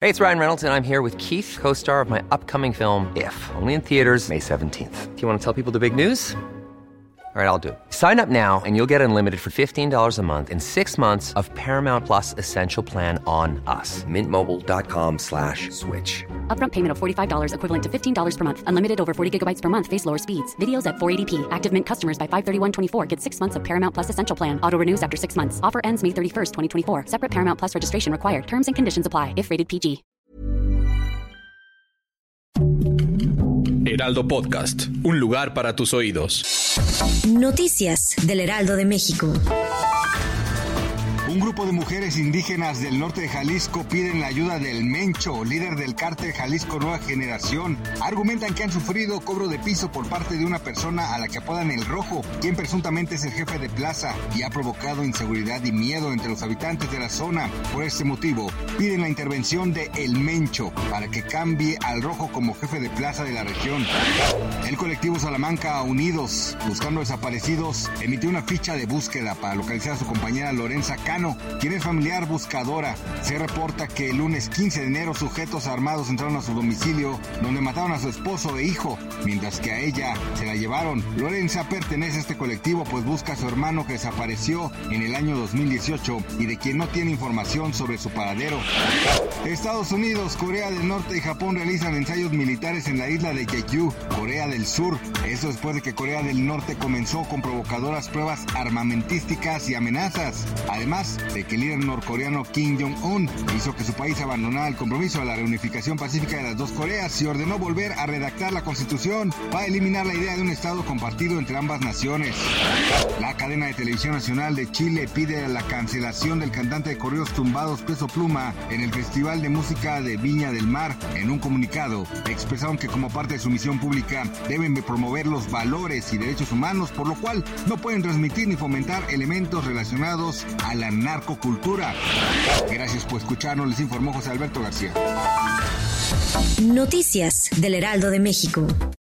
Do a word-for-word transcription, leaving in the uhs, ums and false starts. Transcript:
Hey, it's Ryan Reynolds, and I'm here with Keith, co-star of my upcoming film, If, only in theaters May seventeenth. Do you want to tell people the big news? All right, I'll do it. Sign up now and you'll get unlimited for fifteen dollars a month and six months of Paramount Plus Essential Plan on us. Mint Mobile dot com slash switch. Upfront payment of forty-five dollars equivalent to fifteen dollars per month. Unlimited over forty gigabytes per month. Face lower speeds. Videos at four eighty p. Active Mint customers by five thirty-one twenty-four get six months of Paramount Plus Essential Plan. Auto renews after six months. Offer ends May thirty-first, twenty twenty-four. Separate Paramount Plus registration required. Terms and conditions apply if rated P G. Heraldo Podcast, un lugar para tus oídos. Noticias del Heraldo de México. Un grupo de mujeres indígenas del norte de Jalisco piden la ayuda del Mencho, líder del cártel Jalisco Nueva Generación. Argumentan que han sufrido cobro de piso por parte de una persona a la que apodan El Rojo, quien presuntamente es el jefe de plaza y ha provocado inseguridad y miedo entre los habitantes de la zona. Por este motivo, piden la intervención de El Mencho para que cambie al Rojo como jefe de plaza de la región. El colectivo Salamanca Unidos, buscando desaparecidos, emitió una ficha de búsqueda para localizar a su compañera Lorenza Cano, quien es familiar buscadora. Se reporta que el lunes quince de enero sujetos armados entraron a su domicilio, donde mataron a su esposo e hijo, mientras que a ella se la llevaron. Lorenza pertenece a este colectivo, pues busca a su hermano que desapareció en el año dos mil dieciocho y de quien no tiene información sobre su paradero. Estados Unidos, Corea del Norte y Japón realizan ensayos militares en la isla de Jeju, Corea del Sur. Eso después de que Corea del Norte comenzó con provocadoras pruebas armamentísticas y amenazas. Además de que el líder norcoreano Kim Jong-un hizo que su país abandonara el compromiso de la reunificación pacífica de las dos Coreas y ordenó volver a redactar la constitución para eliminar la idea de un estado compartido entre ambas naciones. La cadena de televisión nacional de Chile pide la cancelación del cantante de corridos tumbados Peso Pluma en el Festival de Música de Viña del Mar. En un comunicado, expresaron que como parte de su misión pública deben de promover los valores y derechos humanos, por lo cual no pueden transmitir ni fomentar elementos relacionados a la narcocultura. Gracias por escucharnos, les informó José Alberto García. Noticias del Heraldo de México.